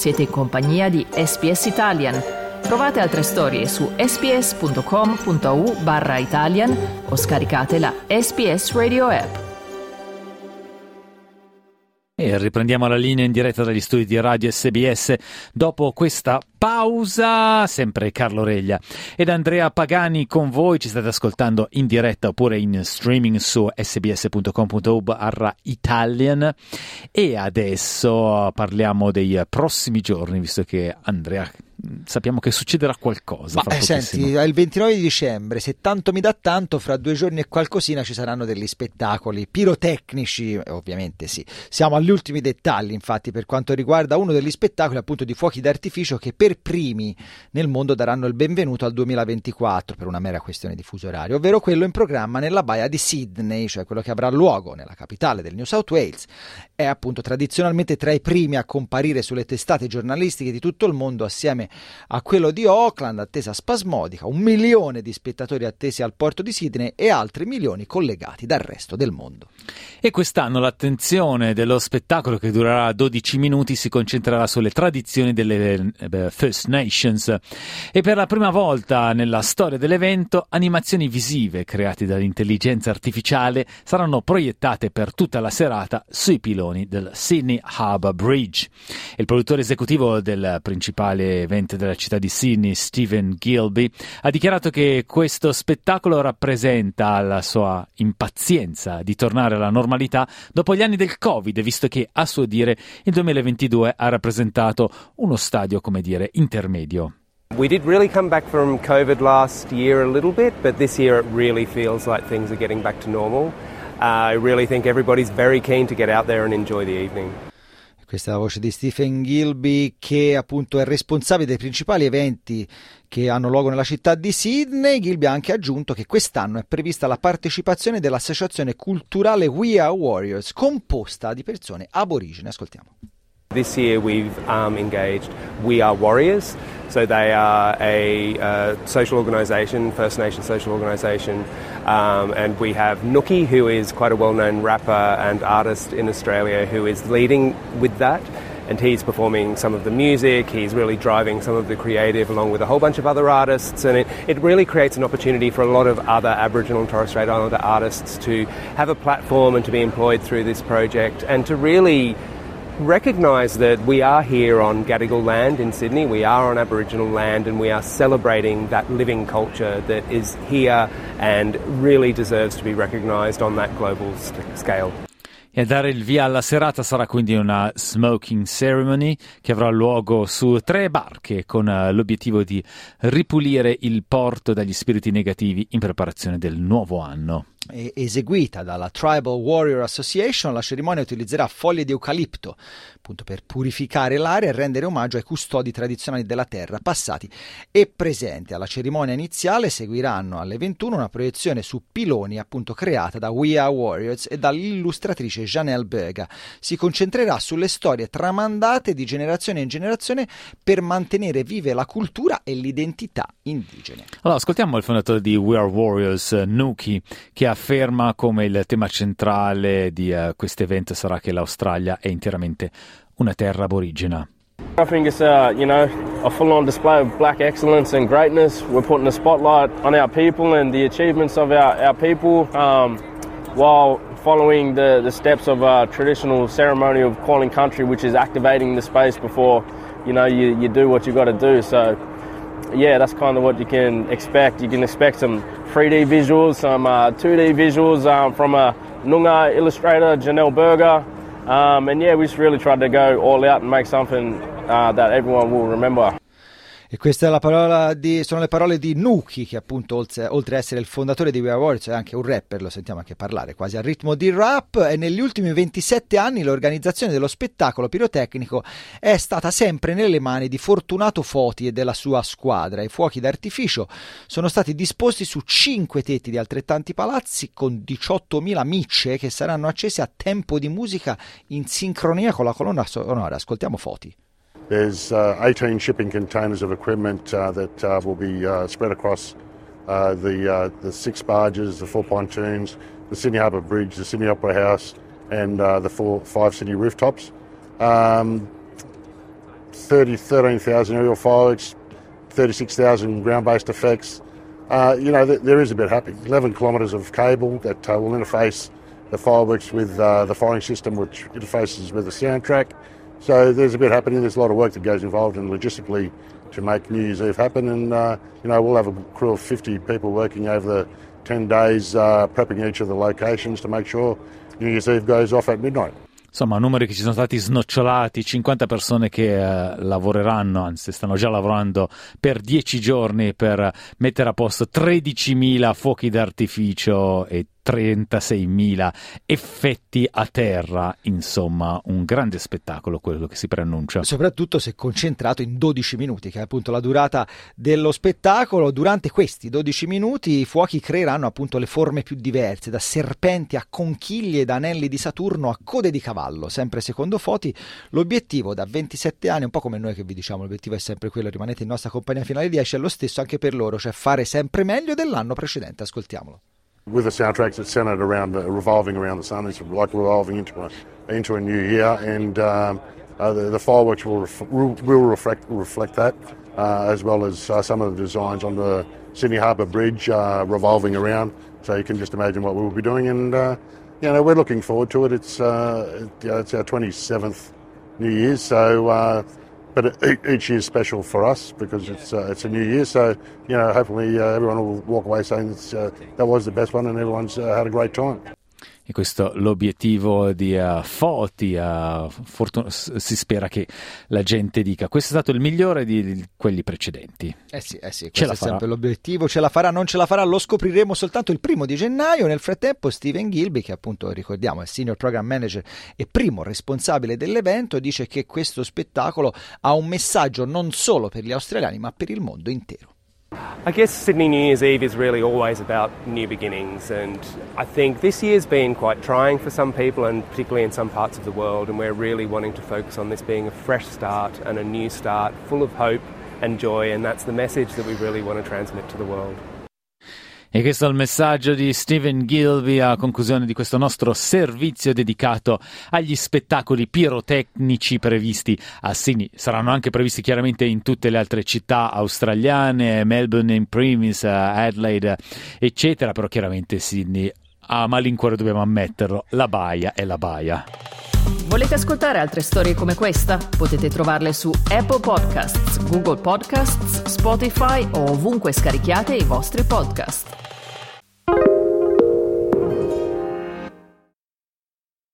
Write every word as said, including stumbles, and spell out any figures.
Siete in compagnia di S B S Italian. Trovate altre storie su sbs.com.au barra Italian o scaricate la S B S Radio app. E riprendiamo la linea in diretta dagli studi di Radio S B S dopo questa pausa. Sempre Carlo Reglia ed Andrea Pagani con voi. Ci state ascoltando in diretta oppure in streaming su sbs.com.au barra Italian. E adesso parliamo dei prossimi giorni, visto che Andrea, sappiamo che succederà qualcosa. Ma eh, senti, è il ventinove di dicembre, se tanto mi dà tanto, fra due giorni e qualcosina ci saranno degli spettacoli pirotecnici, ovviamente sì. Siamo agli ultimi dettagli, infatti, per quanto riguarda uno degli spettacoli appunto di fuochi d'artificio che per primi nel mondo daranno il benvenuto al duemilaventiquattro per una mera questione di fuso orario, ovvero quello in programma nella baia di Sydney, cioè quello che avrà luogo nella capitale del New South Wales. È appunto tradizionalmente tra i primi a comparire sulle testate giornalistiche di tutto il mondo assieme a quello di Auckland, attesa spasmodica, un milione di spettatori attesi al porto di Sydney e altri milioni collegati dal resto del mondo. E quest'anno l'attenzione dello spettacolo, che durerà dodici minuti, si concentrerà sulle tradizioni delle eh, First Nations e per la prima volta nella storia dell'evento animazioni visive create dall'intelligenza artificiale saranno proiettate per tutta la serata sui piloni del Sydney Harbour Bridge. Il produttore esecutivo del principale evento della città di Sydney, Stephen Gilby, ha dichiarato che questo spettacolo rappresenta la sua impazienza di tornare alla normalità dopo gli anni del Covid, visto che, a suo dire, il duemilaventidue ha rappresentato uno stadio, come dire, intermedio. We did really come back from COVID last year a little bit, but this year it really feels like things are getting back to normal. Uh, I really think everybody's very keen to get out there and enjoy the evening. Questa è la voce di Stephen Gilby, che appunto è responsabile dei principali eventi che hanno luogo nella città di Sydney. Gilby ha anche aggiunto che quest'anno è prevista la partecipazione dell'associazione culturale We Are Warriors, composta di persone aborigene. Ascoltiamo. This year we've um, engaged We Are Warriors, so they are a uh, social organisation, First Nation social organisation, um, and we have Nookie, who is quite a well-known rapper and artist in Australia, who is leading with that, and he's performing some of the music, he's really driving some of the creative along with a whole bunch of other artists, and it, it really creates an opportunity for a lot of other Aboriginal and Torres Strait Islander artists to have a platform and to be employed through this project and to really recognise that we are here on Gadigal land in Sydney, we are on Aboriginal land, and we are celebrating that living culture that is here and really deserves to be recognised on that global st- scale. E a dare il via alla serata sarà quindi una smoking ceremony che avrà luogo su tre barche con l'obiettivo di ripulire il porto dagli spiriti negativi in preparazione del nuovo anno. Eseguita dalla Tribal Warrior Association, la cerimonia utilizzerà foglie di eucalipto appunto per purificare l'aria e rendere omaggio ai custodi tradizionali della terra passati e presenti. Alla cerimonia iniziale seguiranno alle ventuno una proiezione su piloni appunto creata da We Are Warriors e dall'illustratrice Janelle Berga. Si concentrerà sulle storie tramandate di generazione in generazione per mantenere vive la cultura e l'identità indigene. Allora, ascoltiamo il fondatore di We Are Warriors, Nookie, che afferma come il tema centrale di uh, questo evento sarà che l'Australia è interamente una terra aborigena. I think it's uh, you know, a full-on display of black excellence and greatness. We're putting a spotlight on our people and the achievements of our, our people um, while following the, the steps of a traditional ceremony of calling country, which is activating the space before you know you, you do what you got to do. So yeah, that's kind of what you can expect. You can expect some three D visuals, some uh, two D visuals um, from a Noongar illustrator, Janelle Berger. Um, and yeah, we just really tried to go all out and make something uh, that everyone will remember. E questa è la parola di, sono le parole di Nookie, che appunto oltre, oltre a essere il fondatore di We Are Warriors è anche un rapper, lo sentiamo anche parlare quasi al ritmo di rap, e negli ultimi ventisette anni l'organizzazione dello spettacolo pirotecnico è stata sempre nelle mani di Fortunato Foti e della sua squadra. I fuochi d'artificio sono stati disposti su cinque tetti di altrettanti palazzi con diciottomila micce che saranno accese a tempo di musica in sincronia con la colonna sonora. Ascoltiamo Foti. There's uh, eighteen shipping containers of equipment uh, that uh, will be uh, spread across uh, the uh, the six barges, the four pontoons, the Sydney Harbour Bridge, the Sydney Opera House, and uh, the four, five Sydney rooftops. Um, thirty, thirteen thousand aerial fireworks, thirty-six thousand ground-based effects. Uh, you know, th- there is a bit happening. eleven kilometres of cable that uh, will interface the fireworks with uh, the firing system, which interfaces with the soundtrack. So there's a bit happening. There's a lot of work that goes involved in logistically to make New Year's Eve happen. And, uh, you know, we'll have a crew of fifty people working over the ten days, uh, prepping each of the locations to make sure New Year's Eve goes off at midnight. Insomma, numeri che ci sono stati snocciolati, cinquanta persone che eh, lavoreranno, anzi stanno già lavorando per dieci giorni per mettere a posto tredicimila fuochi d'artificio e trentaseimila effetti a terra. Insomma, un grande spettacolo quello che si preannuncia. Soprattutto se concentrato in dodici minuti, che è appunto la durata dello spettacolo. Durante questi dodici minuti i fuochi creeranno appunto le forme più diverse, da serpenti a conchiglie, da anelli di Saturno a code di cavallo. Sempre secondo Foti, l'obiettivo da ventisette anni, un po' come noi che vi diciamo, l'obiettivo è sempre quello, rimanete in nostra compagnia fino alle dieci, è lo stesso anche per loro, cioè fare sempre meglio dell'anno precedente. Ascoltiamolo. With the soundtracks, it's centred around, uh, revolving around the sun. It's like revolving into a, into a new year, and um, uh, the, the fireworks will ref- will reflect reflect that, uh, as well as uh, some of the designs on the Sydney Harbour Bridge uh, revolving around. So you can just imagine what we'll be doing, and uh, you know, we're looking forward to it. It's uh, it, uh, it's our twenty-seventh New Year's, so. Uh, But each year is special for us because it's uh, it's a new year. So, you know, hopefully uh, everyone will walk away saying that's, uh, that was the best one and everyone's uh, had a great time. E questo è l'obiettivo di uh, Foti. Uh, fortun- si spera che la gente dica questo è stato il migliore di, di quelli precedenti. Eh sì, eh sì, ce questo la è farà. sempre l'obiettivo. Ce la farà, non ce la farà, lo scopriremo soltanto il primo di gennaio. Nel frattempo Stephen Gilby, che appunto ricordiamo è Senior Program Manager e primo responsabile dell'evento, dice che questo spettacolo ha un messaggio non solo per gli australiani ma per il mondo intero. I guess Sydney New Year's Eve is really always about new beginnings, and I think this year's been quite trying for some people, and particularly in some parts of the world, and we're really wanting to focus on this being a fresh start and a new start full of hope and joy, and that's the message that we really want to transmit to the world. E questo è il messaggio di Stephen Gilby a conclusione di questo nostro servizio dedicato agli spettacoli pirotecnici previsti a Sydney. Saranno anche previsti chiaramente in tutte le altre città australiane, Melbourne in primis, Adelaide, eccetera, però chiaramente Sydney, a malincuore dobbiamo ammetterlo, la baia è la baia. Volete ascoltare altre storie come questa? Potete trovarle su Apple Podcasts, Google Podcasts, Spotify o ovunque scarichiate i vostri podcast.